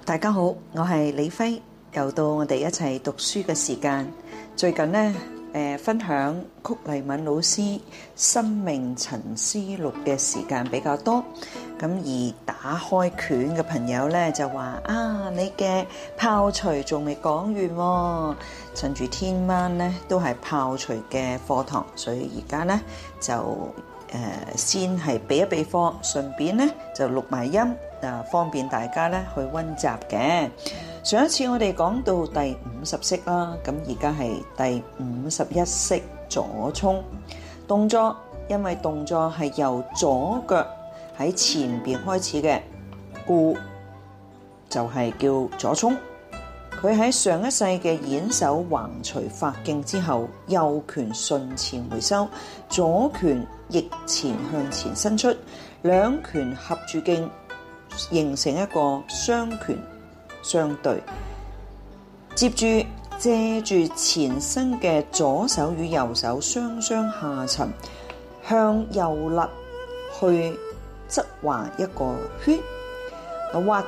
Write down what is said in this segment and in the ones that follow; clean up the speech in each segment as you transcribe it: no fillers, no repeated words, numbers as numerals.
大家好，我係李輝，又到我哋一齊讀書嘅時間。最近呢，分享曲黎敏老師《生命沉思錄》嘅時間比較多，咁而打開卷嘅朋友呢，就話你嘅炮捶仲未講完喎，趁住天晚呢都係炮捶嘅課堂，所以而家呢就先係備一備課，順便呢就錄埋音，方便大家咧去溫習嘅。上一次我哋講到第50式啦，咁而家係第51式左衝動作，因為動作係由左腳喺前邊開始嘅，故就係叫左衝。佢喺上一世嘅演手橫捶發勁之後，右拳順前回收，左拳逆前向前伸出，兩拳合住勁，形成一個雙拳相對。接住借住前身嘅左手與右手雙雙下沉，向右肋去側畫一個圈，畫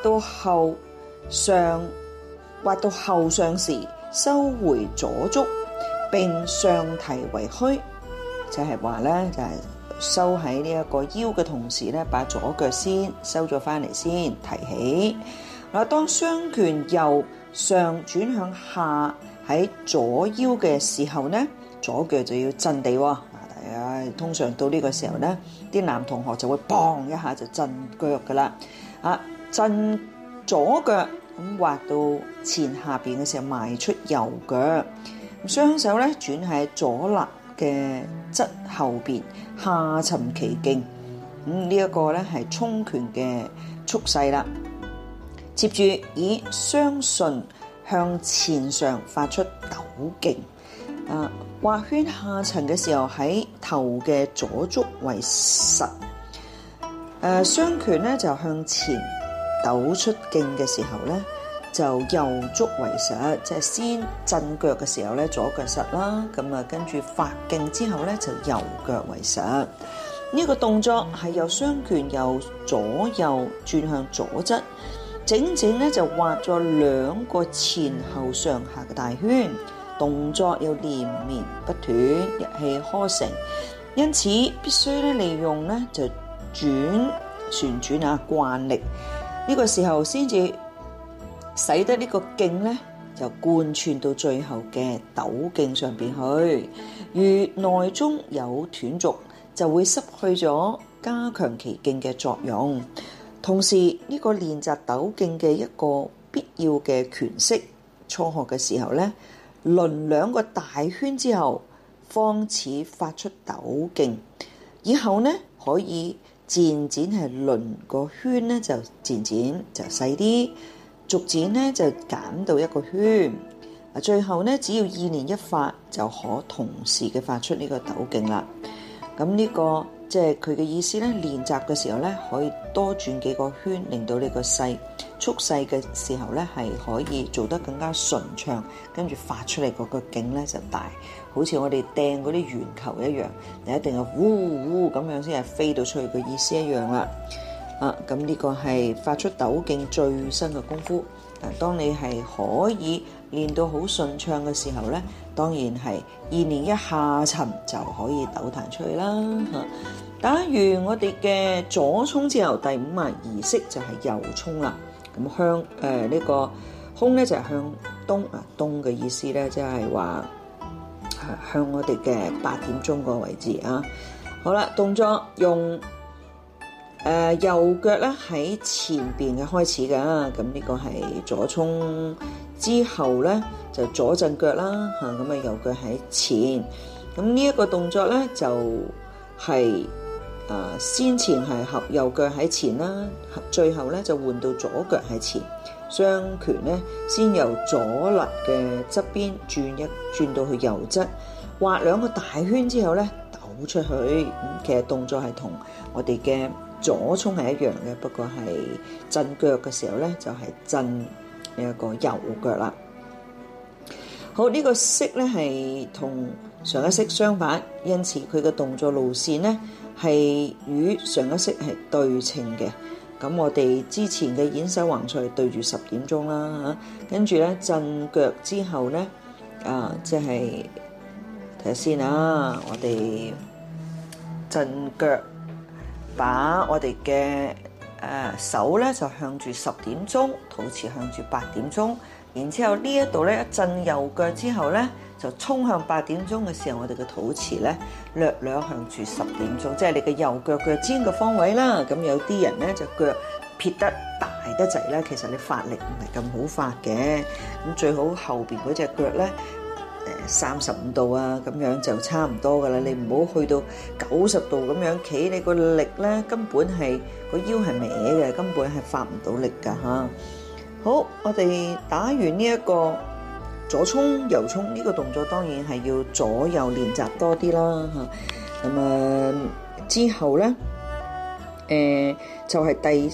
到後上時收回左足，並上提為虛，就係話咧，就係收喺呢一個腰嘅同時咧，把左腳先收咗翻嚟先提起。嗱，當雙拳由上轉向下喺左腰嘅時候呢，左腳就要震地喎。大家通常到呢個時候呢，啲男同學就會砰一下就震腳噶啦。震左腳咁滑到前下邊嘅時候，邁出右腳，雙手咧轉喺左肋嘅側後邊，下沉其勁。呢一個咧係衝拳嘅速勢啦。接住以雙順向前上發出抖勁。畫圈下沉嘅時候，喺頭嘅左足為實。雙拳咧就向前抖出勁嘅時候咧，就右足為實，即係先震腳嘅時候咧，左腳實啦，咁啊跟住發勁之後咧，就右腳為實。呢個動作係由雙拳由左右轉向左側，整整咧就畫咗兩個前後上下嘅大圈，動作又連綿不斷，一氣呵成，因此必須咧利用咧就旋轉慣力。呢個時候先至使得呢個勁咧就貫穿到最後嘅抖勁上邊去。如內中有斷續，就會失去咗加強其勁嘅作用。同時呢個練習抖勁嘅一個必要嘅拳式，初學嘅時候咧，輪兩個大圈之後，方始發出抖勁。以後呢可以漸漸係輪個圈咧，就漸漸就細啲，逐漸咧就減到一個圈。最後咧，只要意念一發，就可同時嘅發出呢個抖勁啦。咁呢個即係佢嘅意思咧，練習嘅時候咧，可以多轉幾個圈，令到呢個速細嘅時候咧，係可以做得更加順暢，跟住發出嚟嗰個勁咧就大，好似我哋掟嗰啲圓球一樣，你一定係呼咁樣先係飛到出去嘅意思一樣啦。咁呢個係發出抖勁最新嘅功夫。當你係可以練到好順暢嘅時候咧，當然係意念一下沉就可以抖彈出去啦。打完我哋嘅左衝之後，第52式就係右衝啦。咁向呢個空咧就係向東，東嘅意思咧即係話向我哋嘅8點鐘個位置啊。好啦，動作用右腳咧喺前邊嘅開始㗎，咁呢個係左衝之後咧就左震腳啦，咁右腳喺前，咁呢一個動作咧就係先前係合右腳喺前啦，最後咧就換到左腳喺前，雙拳咧先由左肋嘅側邊轉到去右側，畫兩個大圈之後咧抖出去。其實動作係同我哋嘅左衝係一樣嘅，不過係震腳嘅時候咧就係震呢一個右腳啦。好，呢個式咧係同上一式相反，因此佢嘅動作路線咧係與上一式係對稱嘅。 咁我哋之前嘅演手橫坐對住10點鐘啦嚇，跟住咧震腳之後咧，即係睇下先啊，我哋震腳，把我哋嘅手咧就向住10點鐘，肚臍向住8點鐘，然之後呢一度咧一震右腳之後咧，就衝向8點鐘嘅時候，我哋嘅肚臍咧略略向住10點鐘，即係你嘅右腳腳尖嘅方位啦。咁有啲人咧就腳撇得大得滯咧，其實你發力唔係咁好發嘅。咁最好後邊嗰隻腳咧，35度啊，咁樣就差唔多噶啦。你唔好去到90度咁樣企，你個力咧根本係個腰係歪嘅，根本係發唔到力噶嚇。好，我哋打完呢一個左衝右衝呢個動作，當然係要左右練習多啲啦嚇。咁之後咧，就係第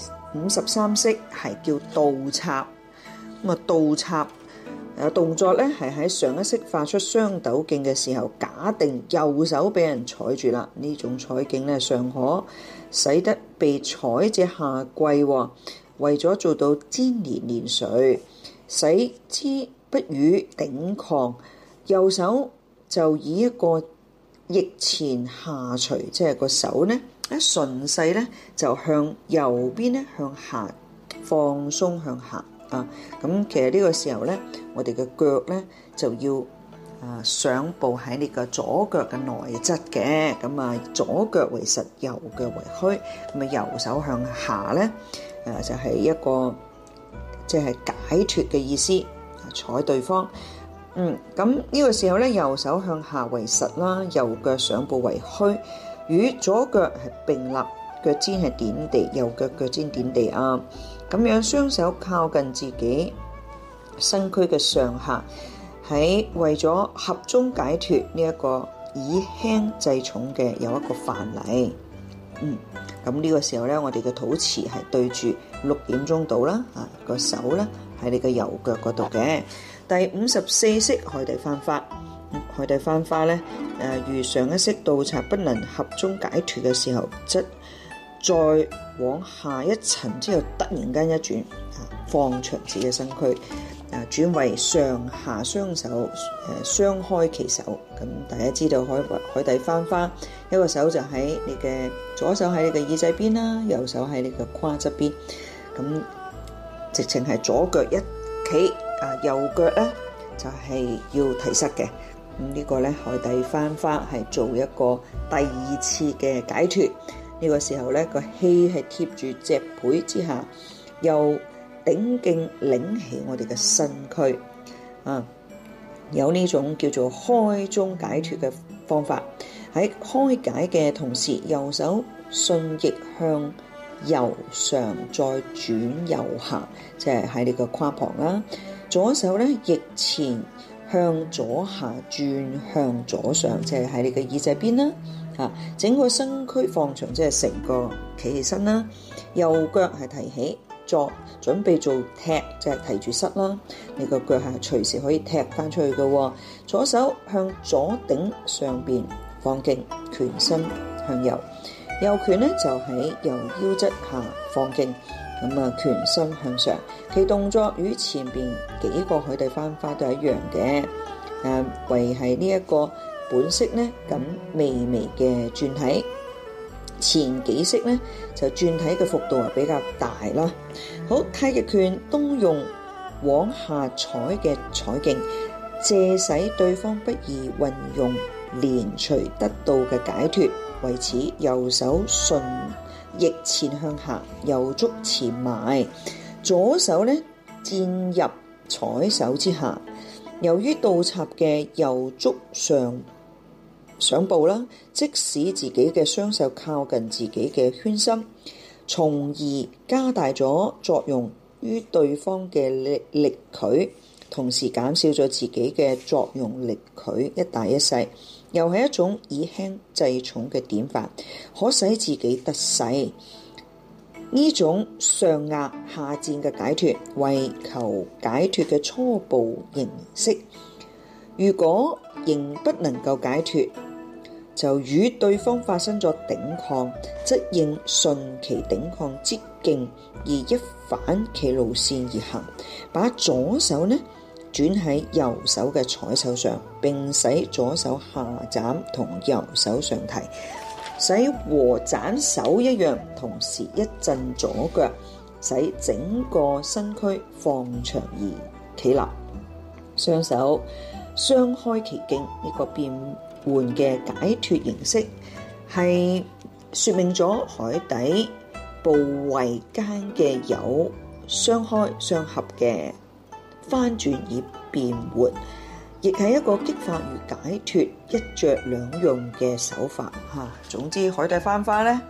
53式係叫倒插。咁啊倒插動作咧係喺上一式發出雙抖勁嘅時候，假定右手俾人踩住啦，呢種踩勁咧尚可使得被踩者下跪喎。為咗做到粘連連隨，使之不予頂抗，右手就以一個逆前下垂，即係個手咧一順勢咧就向右邊咧向下放鬆向下啊。咁其實呢個時候咧，我哋嘅腳咧就要上步喺你嘅左腳嘅內側嘅。咁啊左腳為實，右腳為虛。咁啊右手向下咧。就係一個即係解脫嘅意思，踩對方。咁呢個時候咧，右手向下為實啦，右腳上步為虛，與左腳係並立，腳尖係點地，右腳腳尖點地啊。咁樣雙手靠近自己身軀嘅上下，喺為咗合中解脫呢一個以輕制重嘅有一個範例。咁呢個時候咧，我哋嘅肚臍係對住6點鐘度啦，個手咧喺你嘅右腳嗰度嘅。第54式海底翻花，海底翻花咧，如上一式倒插不能合中解脫嘅時候，則再往下一層之後，突然間一轉，放長自己嘅身軀，轉為上下雙手雙開其手。咁大家知道海底翻花，一個手就喺你嘅左手喺你嘅耳仔邊啦，右手喺你嘅胯側邊。咁直情係左腳一企，右腳咧就係要提膝嘅。咁呢個咧海底翻花係做一個第2次嘅解脫。呢個時候咧個氣係貼住脊背之下，又頂勁擰起我哋嘅身軀，有呢種叫做開中解脫嘅方法。喺開解嘅同時，右手順逆向右上，再轉右下，即係喺你個胯旁啦。左手咧逆前向左下，轉向左上，即係喺你嘅耳仔邊啦。整個身軀放長，即係成個企起身啦。右腳係提起，作準備做踢，即係提住膝啦。你個腳係隨時可以踢翻出去嘅。左手向左頂上邊放勁，拳身向右，右拳咧就喺右腰側下放勁，咁拳身向上。其動作與前邊幾個海底翻花都係一樣嘅，為係呢一個本式咧咁微微嘅轉體。前幾式咧就轉體嘅幅度係比較大啦。好，太極拳都用往下踩嘅踩勁，借使對方不易運用連隨得到嘅解脫。為此，右手順逆前向下，右足前埋，左手咧墊入踩手之下。由於倒插嘅右足上步啦，即使自己嘅雙手靠近自己嘅圈心，從而加大咗作用於對方嘅力距，同時減少咗自己嘅作用力距一大一細，又係一種以輕制重嘅典範，可使自己得勢。呢種上壓下戰嘅解脫，為求解脫嘅初步形式。如果仍不能夠解脫， 就與對方發生咗頂抗，則應順其頂抗之勁而一反其路線而行，把左手呢轉喺右手嘅採手上，並使左手下斬同右手上提，使和斬手一樣，同時一震左腳，使整個身軀放長而企立，雙手雙開其經。呢個變換嘅解脫形式係說明咗海底部位間嘅有雙開雙合嘅翻轉而變換，亦係一個激發與解脫一着兩用嘅手法嚇。總之海底翻花咧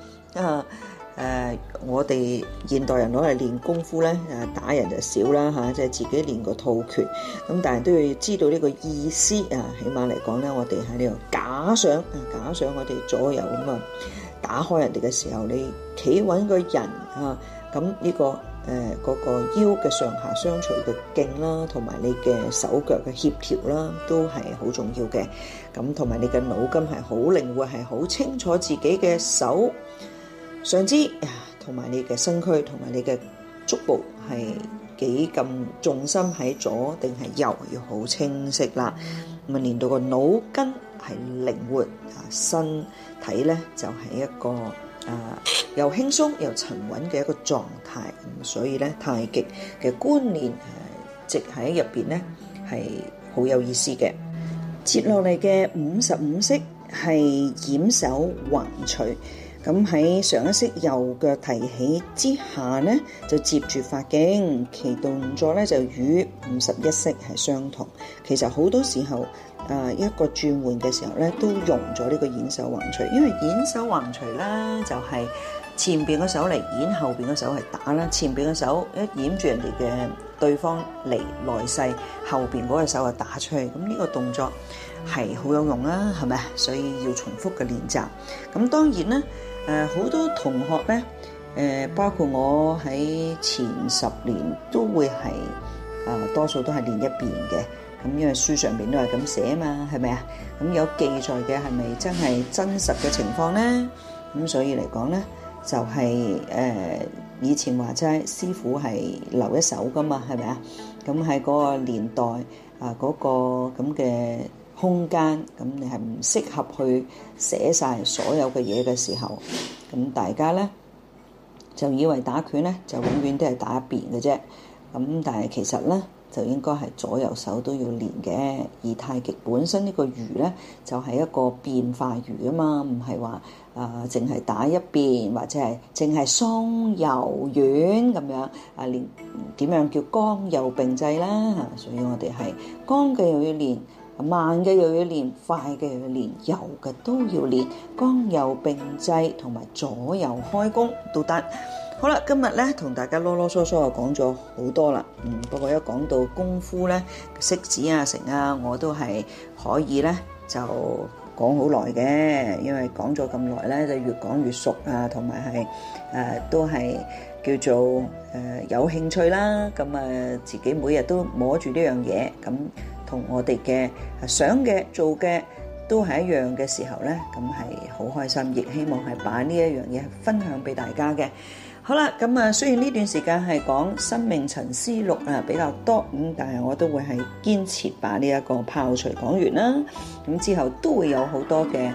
我哋現代人攞嚟練功夫咧，打人就少啦嚇，即係自己練個套拳咁，但係都要知道呢個意思啊。起碼嚟講咧，我哋喺呢度假想我哋左右咁啊，打開人哋嘅時候，你企穩個人啊，咁呢個嗰個腰嘅上下相隨嘅勁啦，同埋你嘅手腳嘅協調啦，都係好重要嘅。咁同埋你嘅腦筋係好靈活，係好清楚自己嘅手上肢同埋你嘅身軀同埋你嘅足部係幾咁重心喺左定係右，要好清晰啦。咁啊練到個腦筋係靈活，身體咧就係一個又輕鬆又沉穩嘅一個狀態。咁所以咧太極嘅觀念直喺入邊咧係好有意思嘅。接落嚟嘅55式係掩手橫捶。咁喺上一式右腳提起之下呢，就接住發勁，其動作咧就與51式係相同。其實好多時候一個轉換嘅時候咧，都用咗呢個掩手橫捶，因為掩手橫捶咧就係前邊個手嚟掩，後邊個手係打啦。前邊個手一掩住人哋嘅對方嚟來勢，後邊嗰個手就打出去。咁呢個動作係好有用啦，係咪？所以要重複嘅練習。咁當然咧。好多同學咧，包括我喺前10年都會係多數都係練一邊嘅。咁因為書上面都係咁寫嘛，係咪啊？咁有記載嘅係咪真係真實嘅情況咧？咁所以嚟講咧，就係以前話齋師傅係留一手噶嘛，係咪啊？咁喺嗰個年代嗰個咁嘅空間，咁你係唔適合去寫晒所有嘅嘢嘅時候，咁大家咧就以為打拳咧就永遠都係打一邊嘅啫。咁但係其實咧就應該係左右手都要練嘅。而太極本身呢個瑜咧就係一個變化瑜啊嘛，唔係話淨係打一邊或者係淨係鬆柔軟咁樣練點樣叫剛柔並濟啦。所以我哋係剛嘅又要練，慢嘅又要練，快嘅又要練，柔嘅都要練，剛柔並濟同埋左右開弓都得。好啦，今日咧同大家囉囉嗦嗦講咗好多啦。不過一講到功夫咧，式子啊、成啊，我都係可以咧就講好耐嘅，因為講咗咁耐咧，就越講越熟啊，同埋係都係叫做有興趣啦。咁自己每日都摸住呢樣嘢，咁同我哋嘅想嘅做嘅都係一樣嘅時候咧，咁係好開心，亦希望係把呢一樣嘢分享俾大家嘅。好啦，咁雖然呢段時間係講生命沉思錄比較多，但係我都會係堅持把呢一個炮捶講完啦。咁之後都會有好多嘅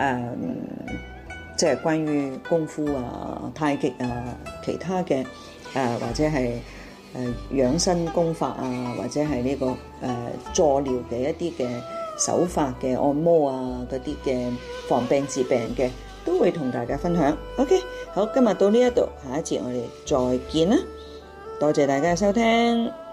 即係關於功夫太極其他嘅或者係養生功法或者係呢個助療嘅一啲嘅手法嘅按摩嗰啲嘅防病治病嘅，都會同大家分享。OK， 好，今日到呢一度，下一節我哋再見啦，多謝大家嘅收聽。